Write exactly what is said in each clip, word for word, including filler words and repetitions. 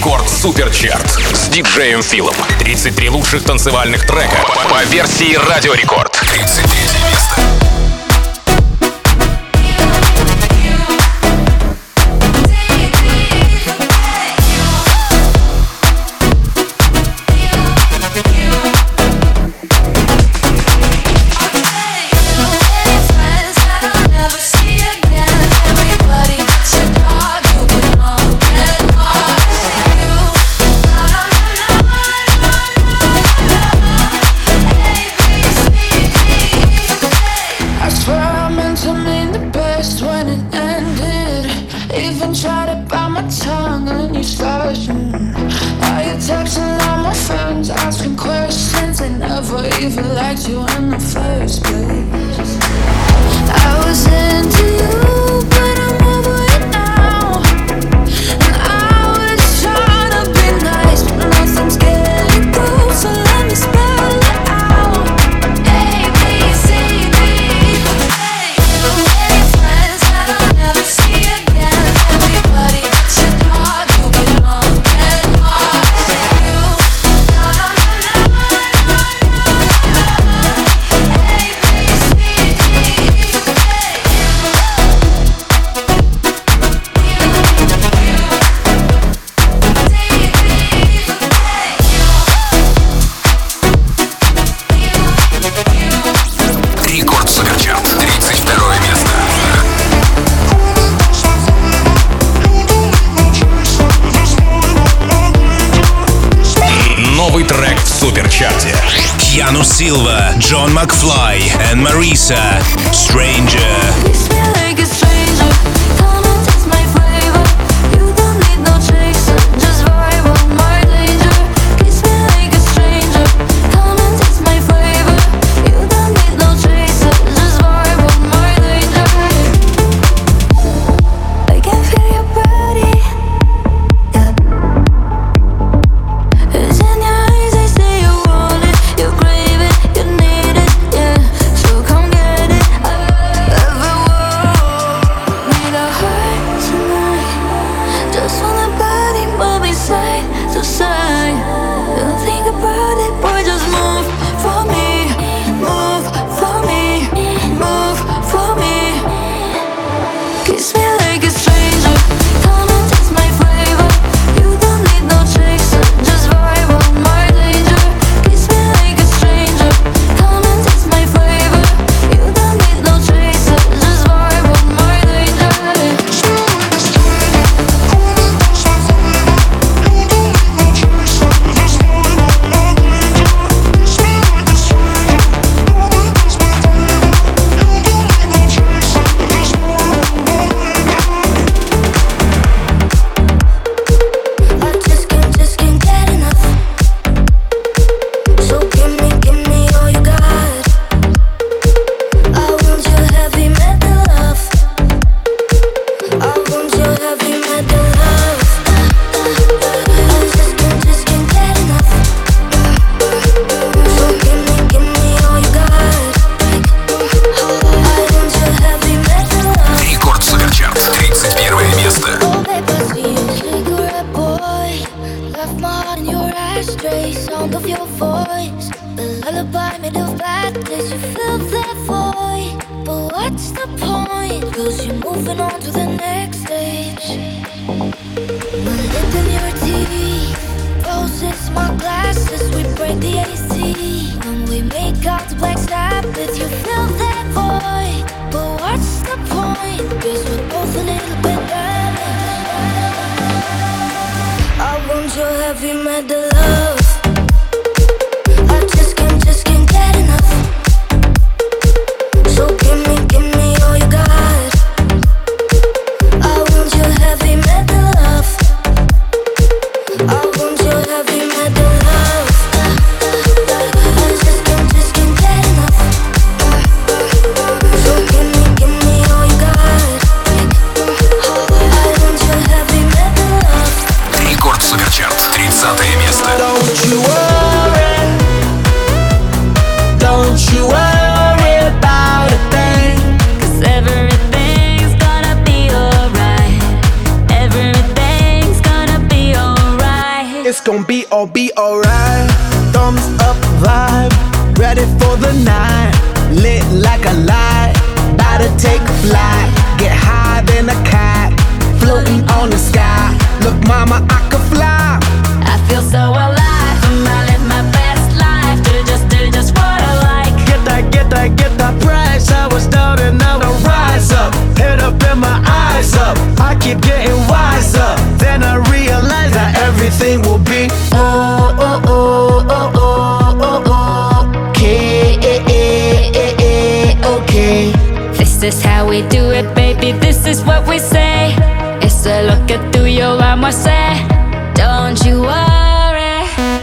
Рекорд Суперчарт с диджеем Филом. тридцать три лучших танцевальных трека по версии Радио Рекорд. тридцать третье место. Even liked you in the first place. I was into you, but I'm over it now. And I was trying to be nice, but nothing's getting through. So let me spell it out. A, B, C, D. The way friends that I'll never see again. Everybody but your dog, you get on and on. You, na na na na. Рекорд Суперчарт, тридцать второе место. Новый трек в Суперчарте. Keanu Silva, John McFly and Marisa, Stranger. Рекорд Суперчарт, тридцатое место. It's gon' be all be alright. Thumbs up vibe, ready for the night. Lit like a light, about to take a flight. Get higher than a cat, floating on the sky. Look mama, I could fly. I feel so alive, I live my best life. Do just, do just what I like. Get that, get that, get that price. I was down and now I rise up. Head up and my eyes up. I keep getting wiser. Then I realize that everything will be Oh, oh, oh, oh, oh, oh, oh. Okay, okay. This is how we do it, baby. This is what we say. It's a lo que tú y yo vamos a hacer. Don't you worry.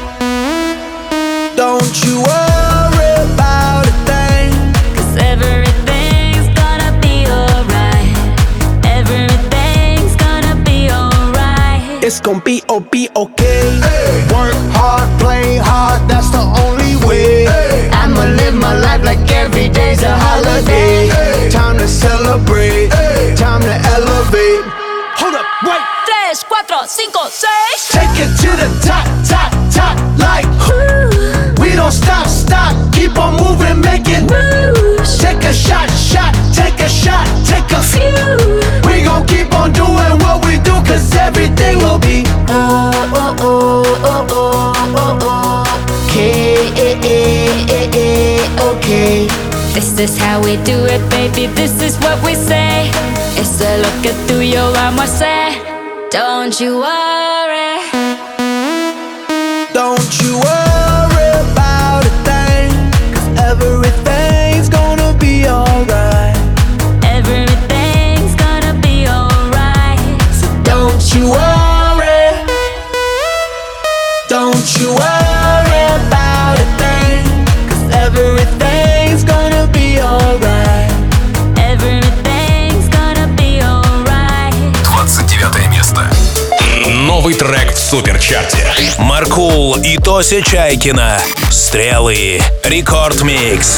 Don't you worry about a thing. Cause everything's gonna be alright. Everything's gonna be alright. It's gon' be oh be okay. Hey. Work hard, play hard, that's the only way. Hey. I'ma live my life like every day's a holiday. Hey. Time to celebrate, hey. Time to elevate. Hold up, wait. Tres, cuatro, cinco, seis. Take it to the top, top, top, like Ooh. We don't stop, stop, keep on moving, make it Moves. Take a shot, shot, take a shot, take a Few. We gon' keep on doing what we do, cause everything will be Oh, oh, oh, oh, oh, oh, oh. Okay, okay. This is how we do it, baby. This is what we say. It's a lo que tú y yo vamos a hacer. Don't you worry. Don't you worry about a thing, cause everything's gonna be alright. Everything's gonna be alright. So don't you worry. Don't you worry about a thing, cause everything's gonna be alright. Everything's gonna be alright. двадцать девятое место. Новый трек в суперчарте. Маркул и Тося Чайкина. Стрелы. Рекорд Микс.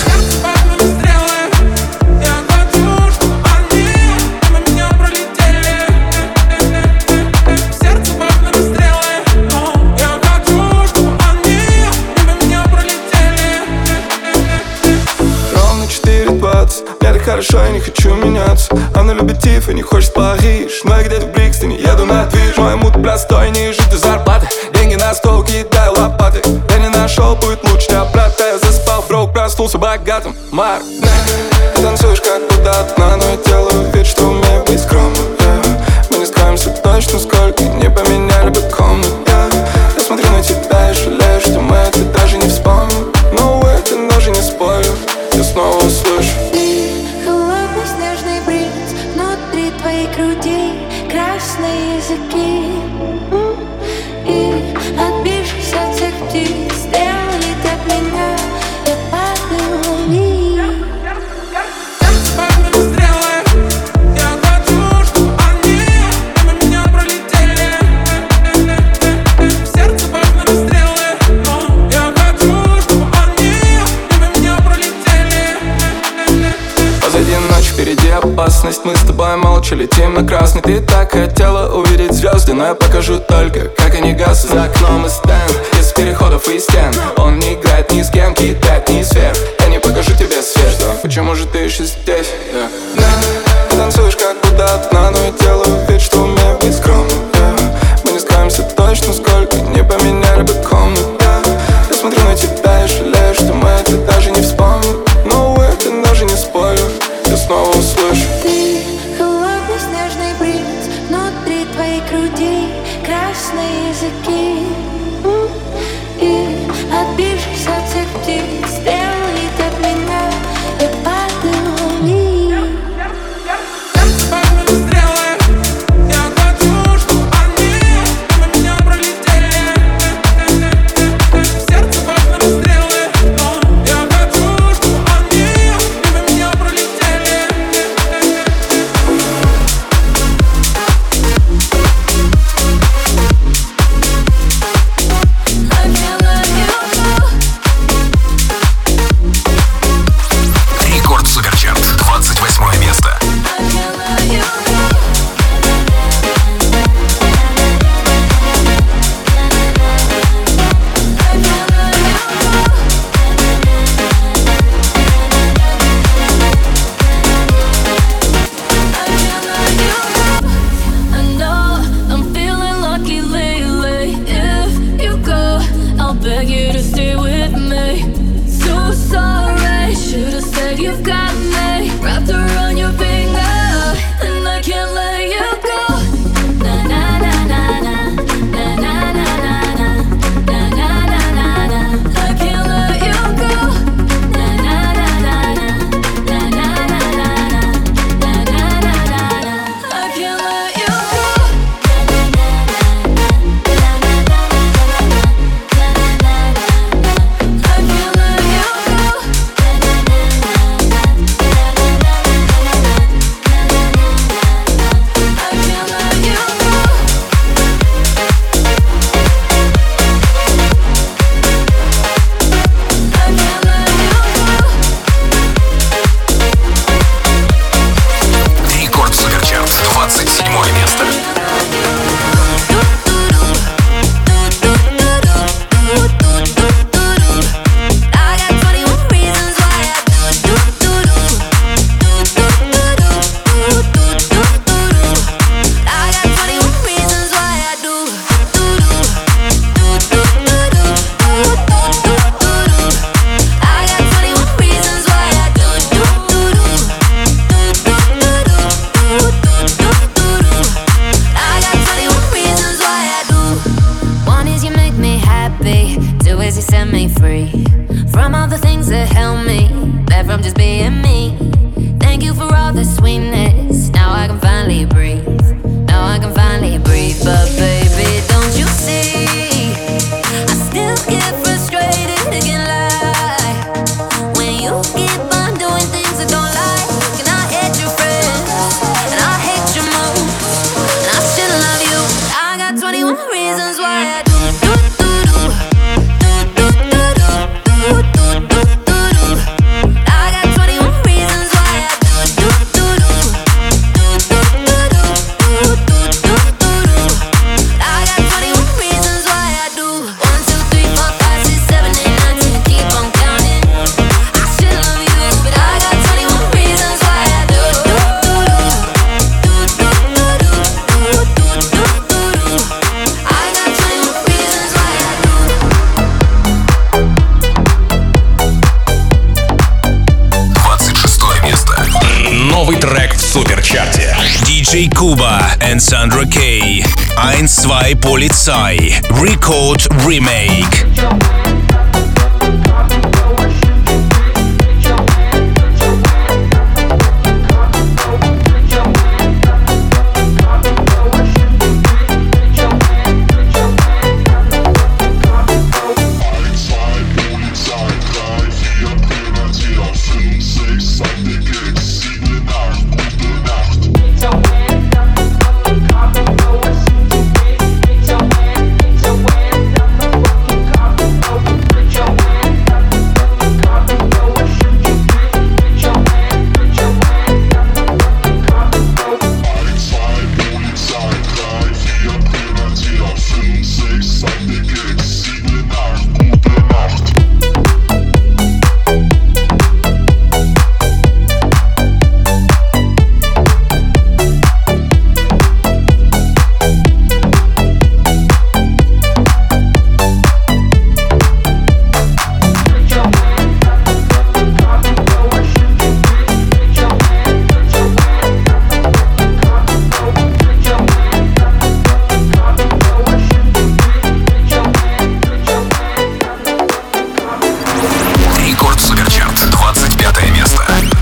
Мне так хорошо, я не хочу меняться. Она любит Тиф и не хочет в Париж. Но я где-то в Брикстоне еду на движ. Мой мут простой, не жить зарплаты. Деньги на стол, кидаю лопаты. Я не нашел, будет лучше не оплата. Я заспал, брок, проснулся богатым. Марк, ты танцуешь как будто одна, но я делаю вид, что умею быть скромным. yeah. Мы не скроемся точно, сколько не поменяли бы комнат. yeah. Я смотрю на тебя и жалею, что мы это даже не вспомним. Но это даже не спорю, я снова услышу. Холодный снежный бриз внутри твоей груди, красные языки. М, И отбившись от всех птиц, стрелы от меня, я падаю вниз. Впереди опасность, мы с тобой молча летим на красный. Ты так хотела увидеть звезды, но я покажу только, как они гаснут. За окном и стенд, из переходов и стен. Он не играет ни с кем, кидает ни сверх. Я не покажу тебе свет, что? Почему же ты еще здесь? Yeah. Yeah. Ты танцуешь как будто одна, но я делаю вид, что умею быть скромным. yeah. Мы не скроемся точно, сколько не поменяли бы комнат. yeah. Я смотрю на тебя и жалею, что мы это даже не вспомним. Но это даже не спорю, я снова услышу. Ты холодный снежный бриз внутри твоей груди, красные языки. М, И отбившись от всех птиц, стрелы от меня, я падаю вниз. ways you set me free from all the things that held me back from just being me. Thank you for all the sweetness. Now I can finally breathe. Now I can finally breathe. But baby, don't you see? I still get frustrated, can't lie. When you keep on doing things I don't like, and I hate your friends, and I hate your moves, and I still love you. I got twenty-one reasons why I do do do do do do do do do do do do. I got twenty-one reasons why I do do do do do do do do do do do. I got twenty-one reasons why I do. One, two, three, four, five, six, seven, eight, nine, ten. Keep on counting. I still love you, but I got twenty-one reasons why I do do do do do do do do do do. I got twenty-one reasons why I do. двадцать шестое место. Новый трек в суперчарте. ди джей Kuba and Sandra K. eins, zwei Polizei. Record Remake. Рекорд суперчарт. двадцать пятое место.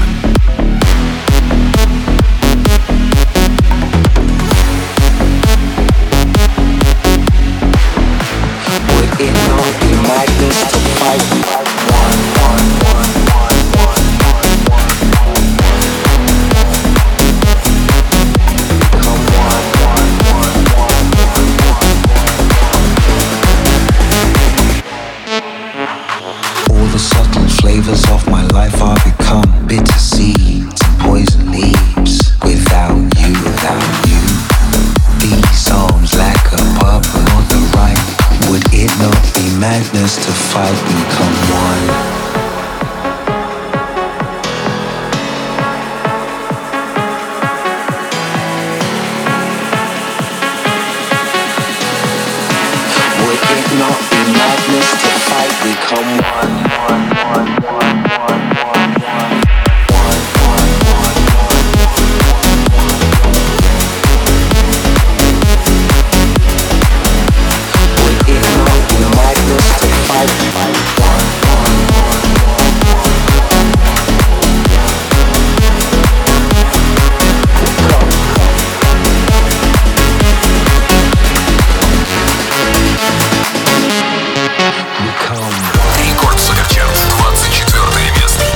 Would it not be madness to fight? Come all the subtle flavors of my life are become bitter seeds and poison leaves. Without you, without you, these arms lack a purpose or the right. Would it not be madness to fight? Become one. Would it not be madness to fight? Become one. One, one, one, one, one, one. One, one, one, one, one. Would it not be madness to fight? One, one, one, Рекорд суперчарт. двадцать четвертое место.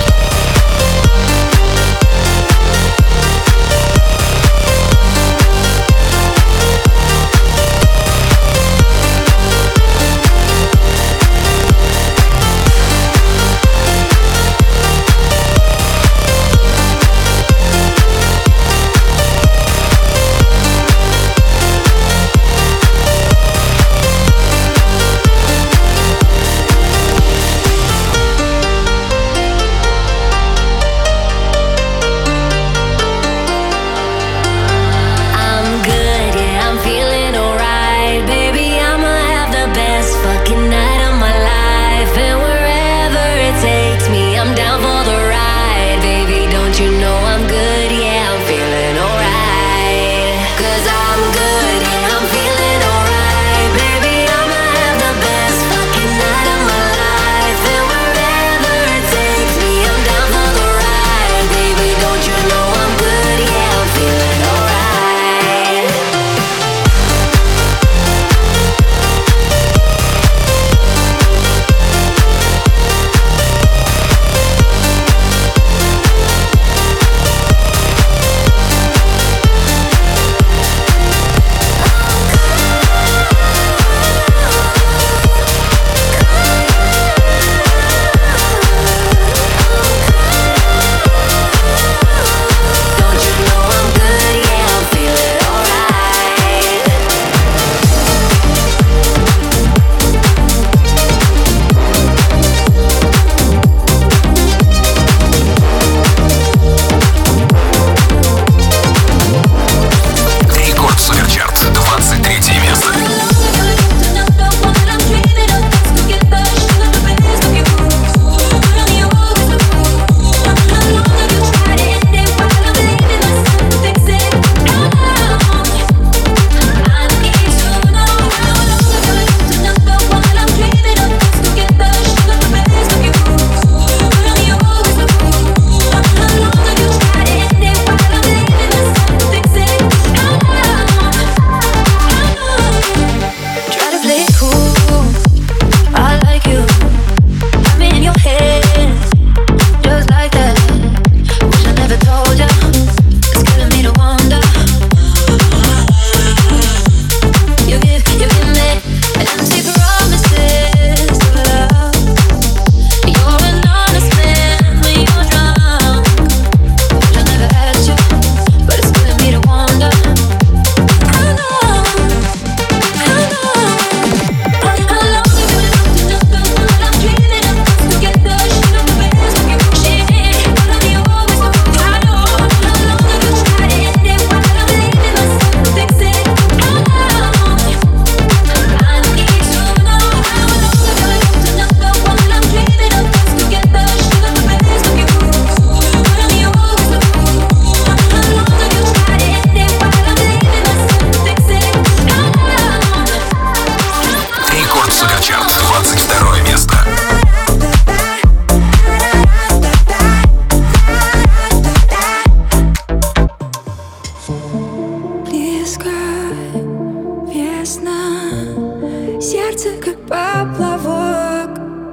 сердце как поплавок.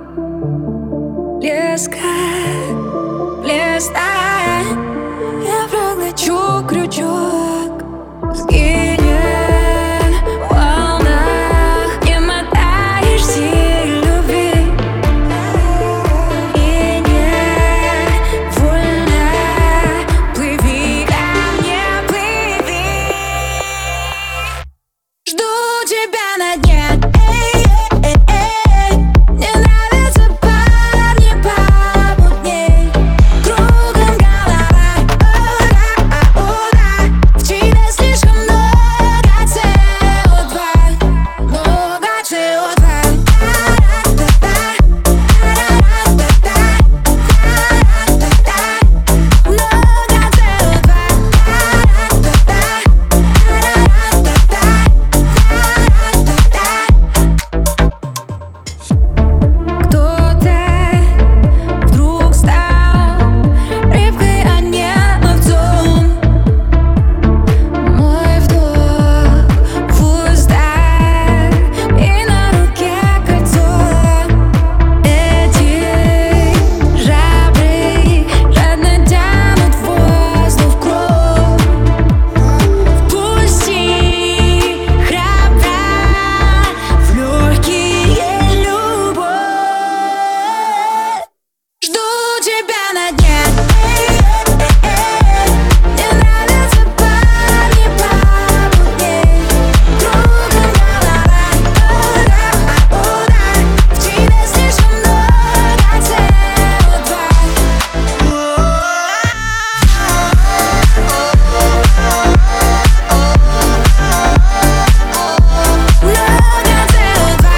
Леска, листай, я проглочу крючок. Сгинет в волнах, не мотаешься любви. И невольно плыви ко мне, плыви. Жду тебя на дне. Эй, эй, эй. Мне нравятся парни помутней. Кругом голова. О да, о да. В тебе слишком много си о два. Много си о два. Та-ра-та-та. Та-ра-та-та. Та-ра-та-та. Много си о два. Кто-то вдруг стал рыбкой, а не ловцом. Мой вдох в устах и на руке кольцо. Эти жабры жадно тянут воздух в кровь. Впусти храбро в легкие любовь. Жду тебя на дне. Эй, эй, эй. Мне нравятся парни помутней. Кругом голова. О да, о да. В тебе слишком много си о два. Много си о два.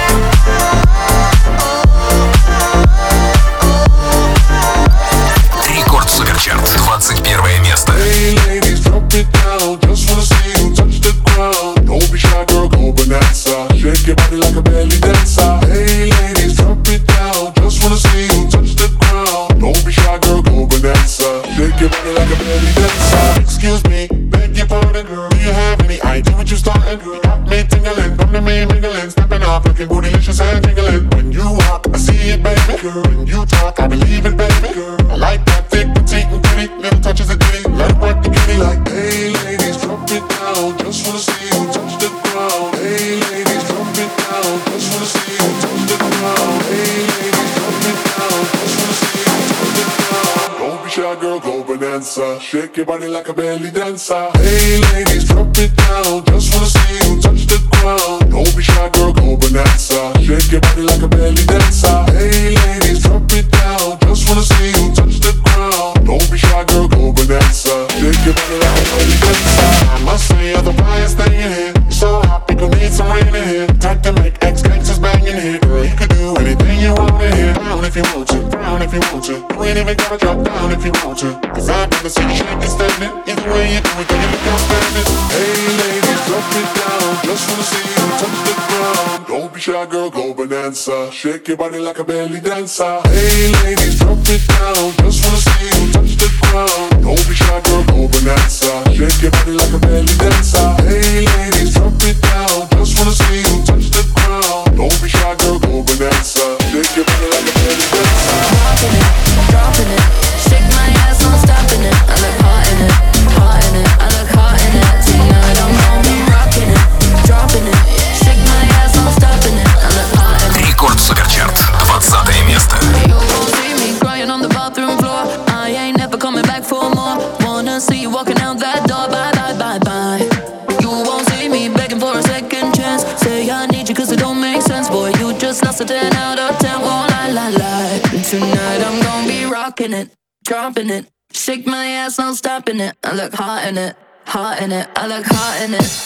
Рекорд Суперчарт, двадцать первое место. Hey ladies, drop it down. Just wanna see you touch the ground. Don't be shy, girl, go bonanza. Shake your body like a belly dancer. Hey ladies, drop it down. Just wanna see you touch the ground. Don't be shy, girl, go bonanza. Shake your body like a belly dancer. Excuse me, beg your pardon, girl. Do you have any idea what you're starting, girl? Got me tingling, come to me mingling, stepping off, looking bootylicious and tingling. When you walk, I see it, baby, girl. When you talk, I believe it, baby, girl. I like that thick, petite, and pretty, little touches of ditty. Let it work the kitty like, hey ladies, drop it down. Just wanna see you touch the ground. Hey ladies, drop it down. Just wanna see you touch the ground. Hey ladies, drop it down. Just wanna see you touch the ground. Don't be shy, girl, go bonanza. Shake your body like a belly dancer. Hey ladies, drop it down. Just wanna see you touch the ground. Don't be shy, girl, go bonanza. Shake your body like a belly dancer. Hey ladies, drop it down. Just wanna see you touch the ground. Don't be shy, girl, go bonanza. Shake your body like a belly dancer. I must say you're the flyest thing in here. You're so hot, people need some rain in here. Time to make ex-gangsters bang in here. Girl, you can do anything you want in here. Down if you want to, down if you want to. You ain't even gotta drop down if you want to. Cause I'd rather see you shaking, standing. Either way you do it, girl, you look outstanding. Hey ladies, drop it down. Just wanna see you touch the ground. Don't be shy, girl, go bonanza. Shake your body like a belly dancer. Hey ladies, drop it down. Just wanna see you touch the ground. Don't be shy, girl, go bonanza. Shake your body like a belly dancer. Hey ladies, drop it down. Just wanna see you touch the ground. Don't be shy, girl, go bonanza. Shake your body like a belly dancer. Dropping it, dropping it. Shake my ass, I'm stopping it. I look hot in it, hot in it. I look hot in it. Tonight I'm gonna be rocking it, dropping it. Shake my ass, I'm stopping it. I look hot in it. Рекорд Суперчарт, двадцатое место. You won't see me crying on the bathroom floor. I ain't never coming back for more. Wanna see you walking out that door. Bye, bye, bye, bye. You won't see me begging for a second chance. Say I need you cause it don't make sense. Boy, you just lost a ten out of ten. Won't lie, lie, lie. Tonight I'm gonna be rocking it, dropping it. Shake my ass, I'm stopping it. I look hot in it, hot in it. I look hot in it.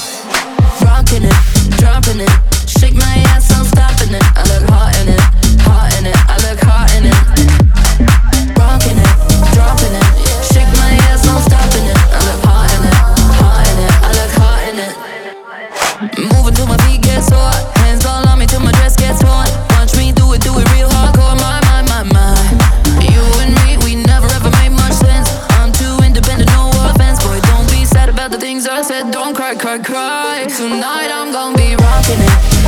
Rocking it, dropping it. Shake my ass, I'm stopping it. I look hot in it, hot in it. I look hot in it. Rocking it, dropping it. Shake my ass, I'm stopping it. I look hot in it, hot in it. I look hot in it. Moving till my feet get sore. Hands all on me till my dress gets torn. Watch me do it, do it real hardcore. My, my, my, my. You and me, we never ever made much sense. I'm too independent, no offense. Boy, don't be sad about the things I said. Don't cry, cry, cry. Tonight I'm gonna be rocking it,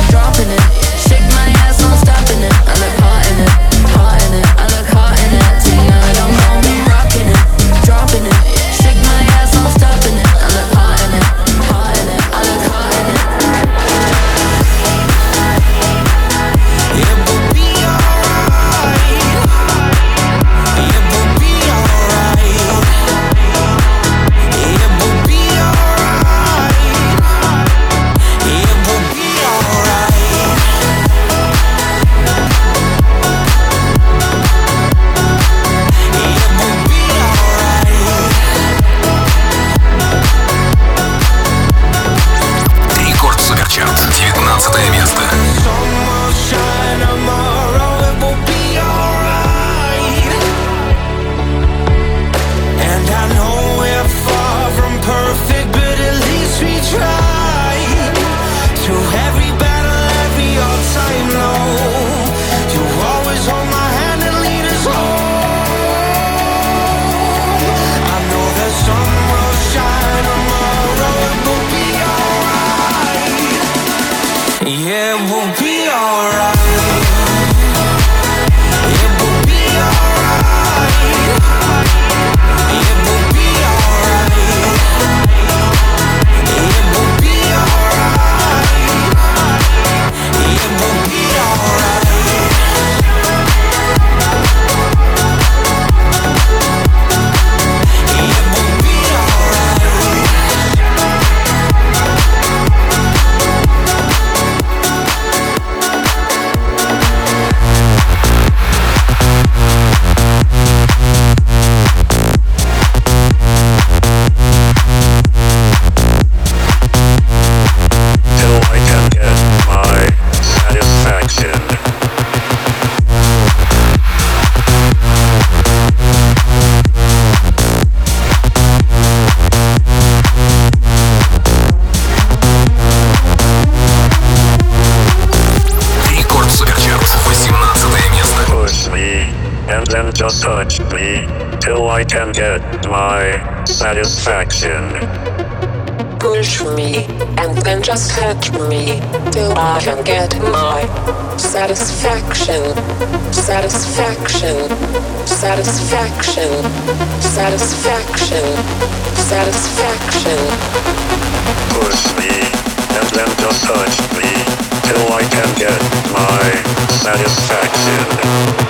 be alright. It will be alright. It will be alright. It will be alright. It will be alright. Just touch me till I can get my satisfaction. Push me and then just touch me till I can get my satisfaction. Satisfaction. Satisfaction. Satisfaction. Satisfaction. Push me and then just touch me till I can get my satisfaction.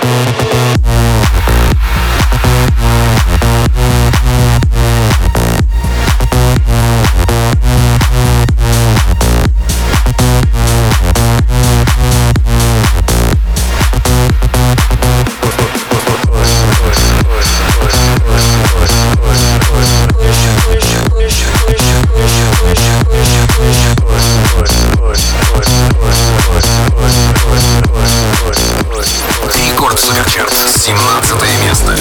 Рекорд Суперчарт, семнадцатое место.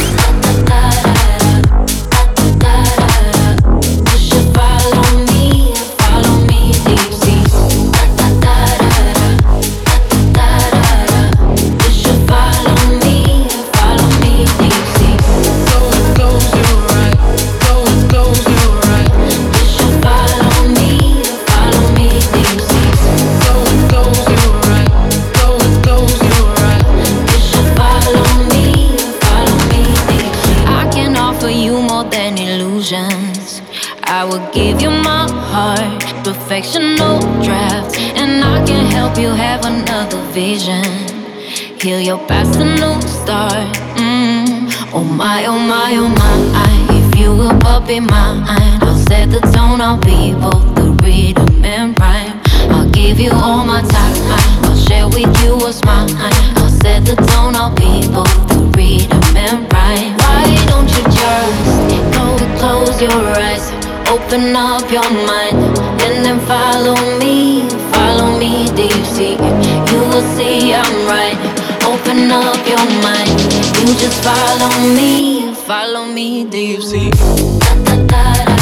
I will give you my heart, perfection, no draft, and I can help you have another vision. Heal your past, a new start. Mm. Oh my, oh my, oh my. If you will but be mine, I'll set the tone. I'll be both the rhythm and rhyme. I'll give you all my time. I'll share with you what's mine. I'll set the tone. I'll be both the rhythm and rhyme. Why don't you just go close your eyes? Open up your mind and then follow me, follow me deep sea. You will see I'm right. Open up your mind. You just follow me, follow me deep sea. Da, da, da, da.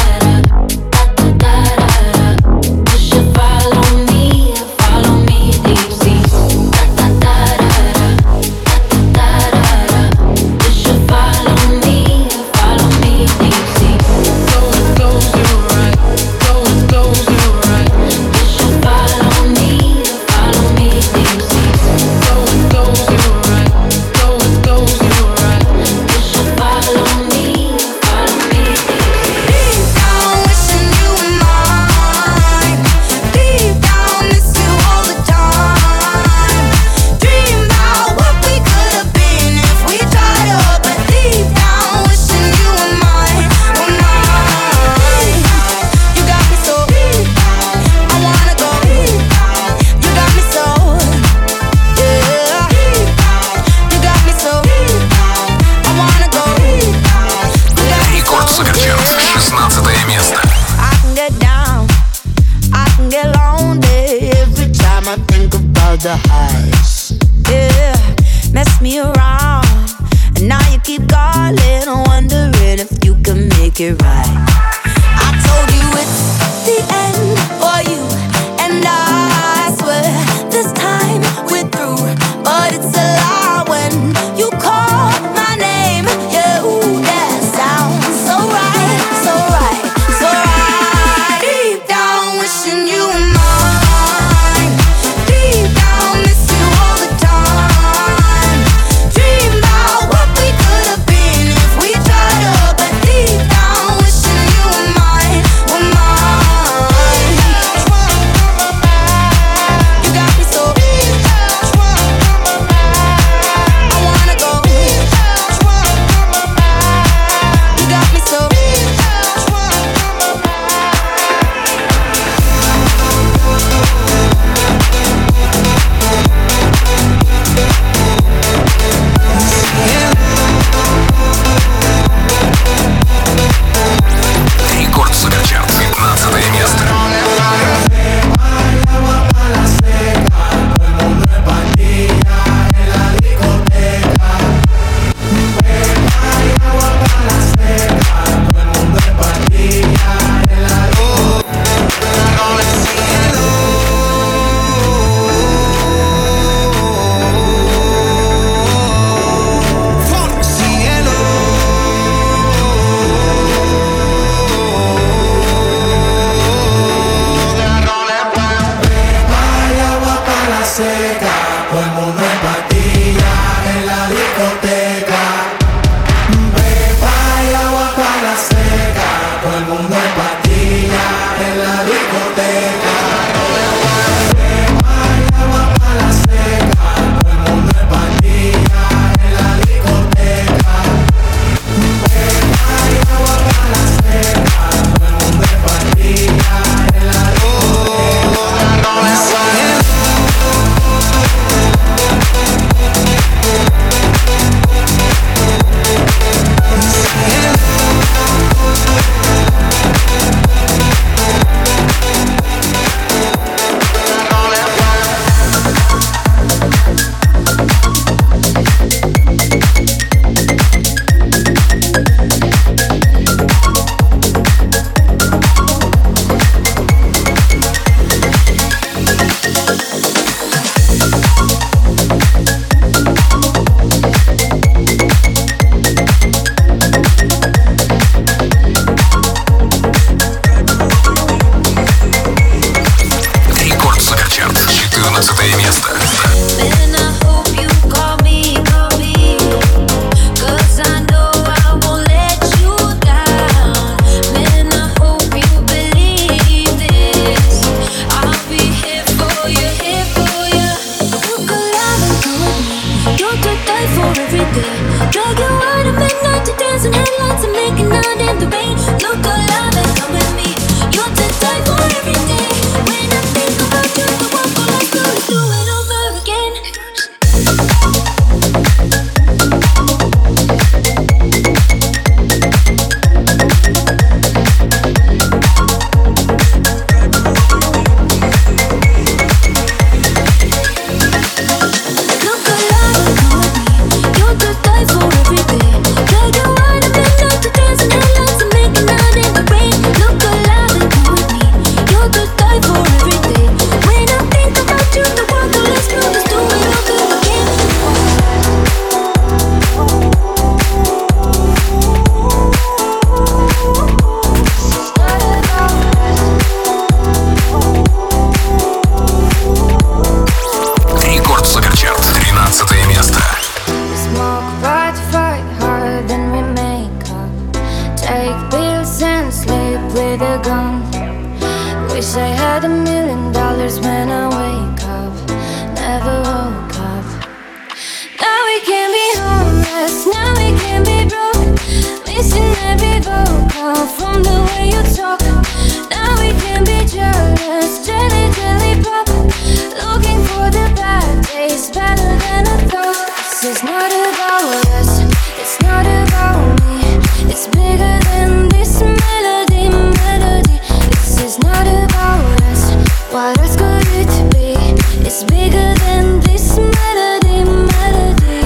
The highs, yeah, mess me around, and now you keep calling, wondering if you can make it right. I told you it's the end for you, and I swear this time we're through, but it's a lie when you call my name. Yeah, ooh, that sounds so right, so right, so right. Deep down, wishing you were mine. Deep down. место. Man, I hope you call me, call me, 'cause I know I won't let you down. Man, I hope you believe this. I'll be here for you, here for you. Look alive and come with me. You're to die for every day. Drag you out at midnight to dancing headlights and making out in the rain. Look alive and come with me. You're to die for every day. When I think about you, the one for like you to do it over again. Look alive and come with me. You're to die for every day. Drag you out at midnight to dancing headlights and making out in the rain. Look alive and come with me. You're to die for every day. When I think about you, the world will explode. Let's do it over again. Рекорд Суперчарт, тринадцатое место. Smoke, fight, fight harder than we make up. Take pills and sleep with a gun. Wish I had a million dollars when I wake up. Never woke up. Now we can be homeless, now we can be broke. Missing every vocal from the way you talk. Now we can be jealous, jelly, jelly pop. Looking for the bad days, better than I thought. This is not about us, it's not about me. It's bigger than this melody, melody. This is not about us, what else could it be? It's bigger than this melody, melody.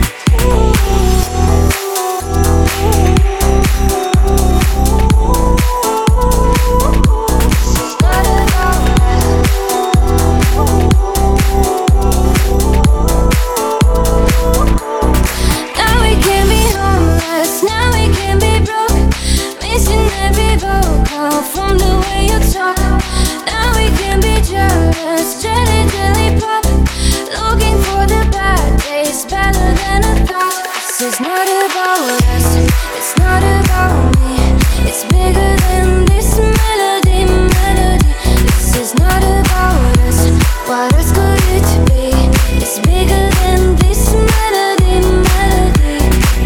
Now we can be homeless, now we can be broke. Missing every vocal from the way you talk. Now we can be jealous, jelly, jelly pop. Looking for the bad days, better than I thought. This is not about us, it's not about me. It's bigger than this melody, melody. This is not about us, what else could it be? It's bigger than this melody, melody.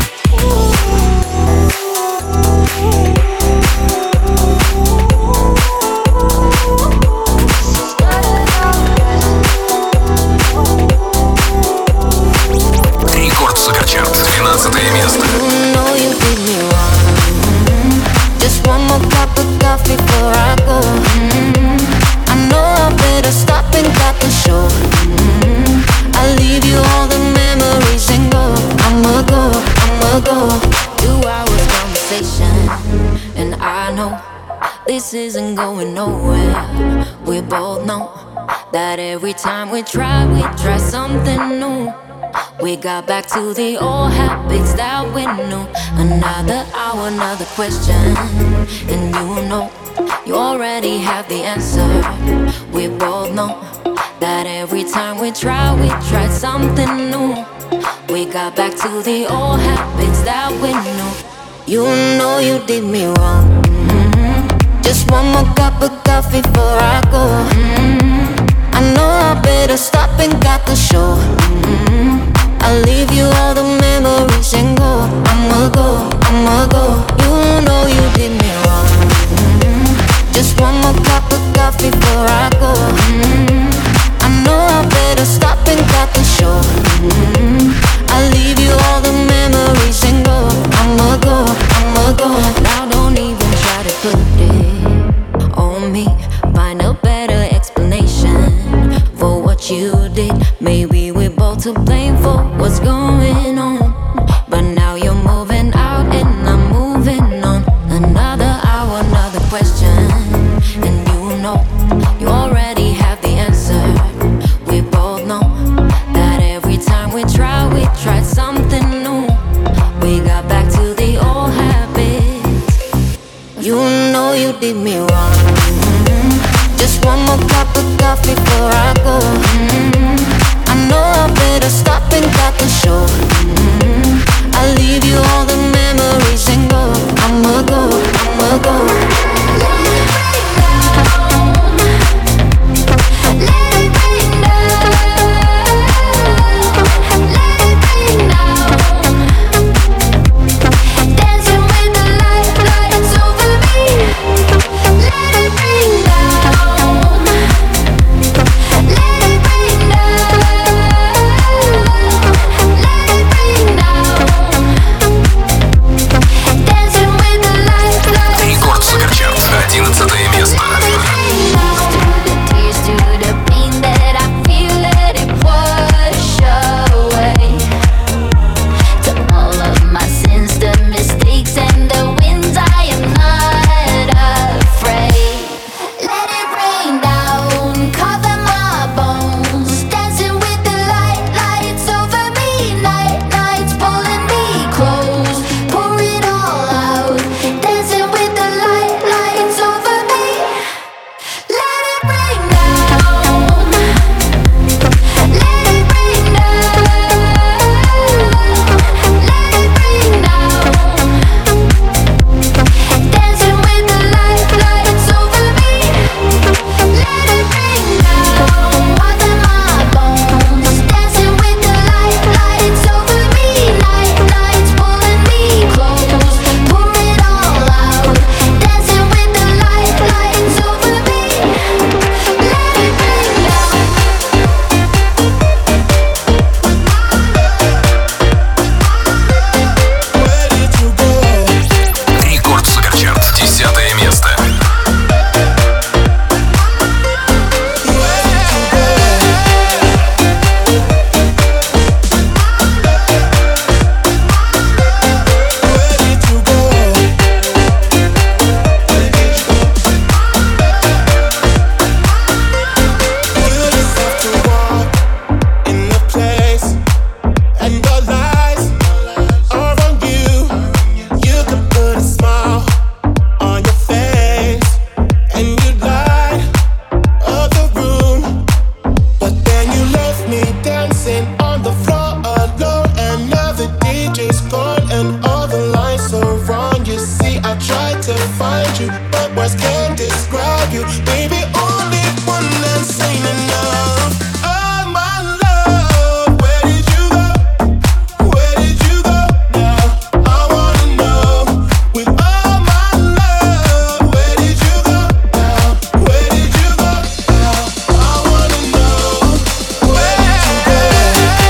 Рекорд Суперчарт, двенадцатое место. You know you did me wrong. Mm-hmm. Just one more cup of coffee before I go. Mm-hmm. I know I better stop and cut the show. Mm-hmm. I'll leave you all the memories and go. I'ma go, I'ma go. Two hours conversation, and I know this isn't going nowhere. We both know that every time we try, we try something new. We got back to the old habits that we knew. Another hour, another question, and you know you already have the answer. We both know that every time we try, we try something new. We got back to the old habits that we knew. You know you did me wrong. Mm-hmm. Just one more cup of coffee before I go. Mm-hmm. I know I better stop and cut the show. Mm-hmm. I'll leave you all the memories and go. I'ma go, I'ma go. You know you did me wrong. Mm-hmm. Just one more cup of coffee before I go. Mm-hmm. I know I better stop and cut the show. Mm-hmm. I'll leave you all the memories and go. I'ma go, I'ma go. Now don't even try to put it on me. Find a better explanation for what you did. Maybe we're both to blame for what's going on. But now you're moving out and I'm moving on. Another hour, another question, and you know you already have the answer. We both know that every time we try, we try something new. We got back to the old habits. You know you did me wrong. Mm-hmm. Just one more cup of coffee before I go. Mm-hmm. dancing on the floor alone, and now the D J's gone and all the lights are wrong. You see, I tried to find you, but words can't describe you. Baby, only one that's ain't enough. Oh my love, where did you go? Where did you go now? I wanna know. With all my love, where did you go now? Where did you go now? I wanna know. Where did you go?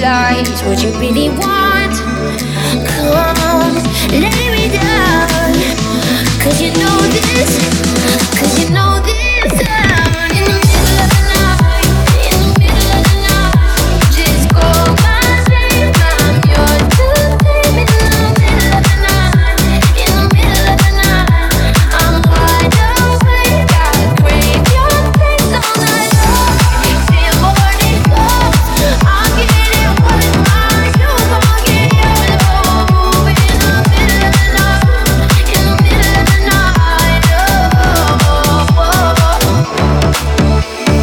lies what you really want. Come, lay me down. Cause you know this, cause you know this sound. In the middle of the night, in the middle of the night, just go my safe. I'm yours to take. In the middle of the night, in the middle of the night, I'm wide awake. I crave your face all night long. Till morning comes, I'll get it what is mine. You gon' get yours. Oh, in the middle of the night, in the middle of the night. Oh, oh, oh.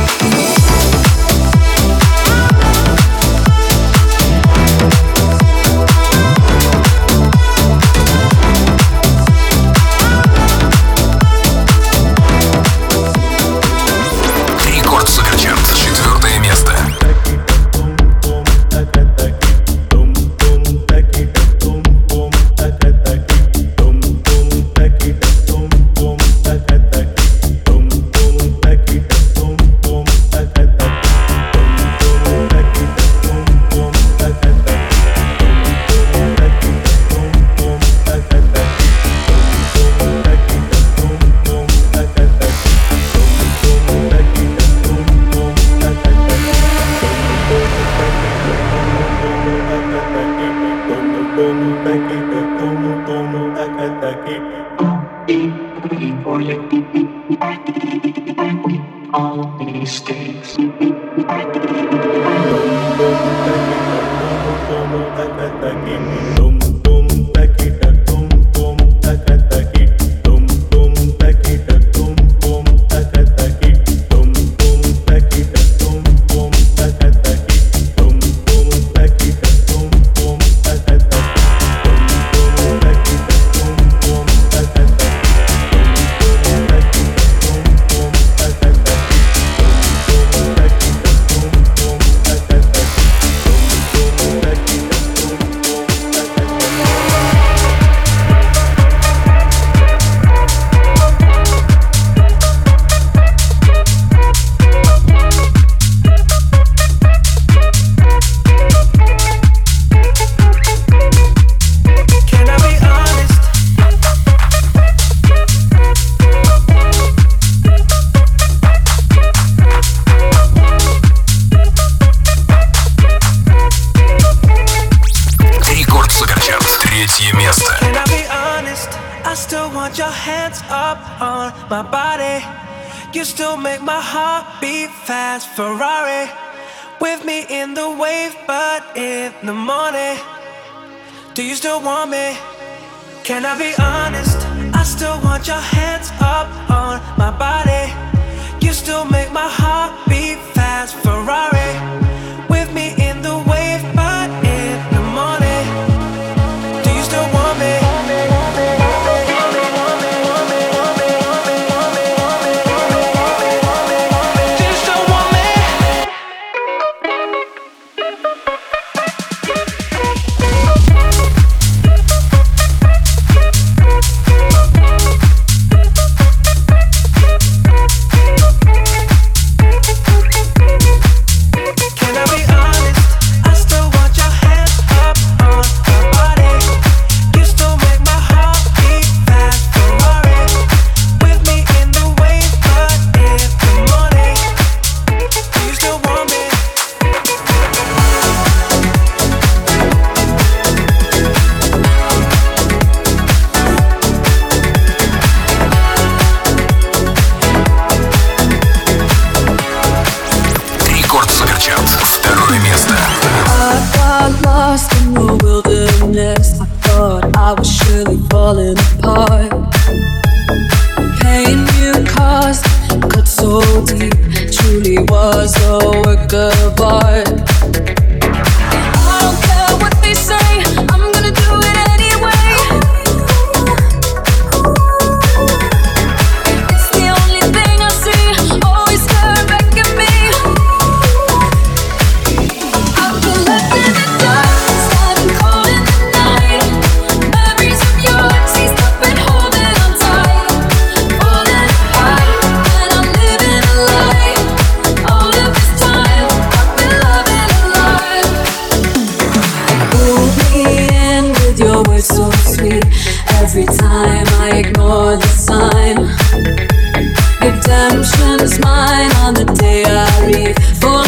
Рекорд Суперчарт. Четвертое место. You still make my heart beat fast. Ferrari with me in the wave, but in the morning, do you still want me? Can I be honest? I still want your hands up on my body. You still make my heart beat fast. Ferrari with me in the wave, but in the morning, do you still want me? All of this time I've been loving your words so sweet. Every time I ignore the sign, redemption is mine on the day I leave. For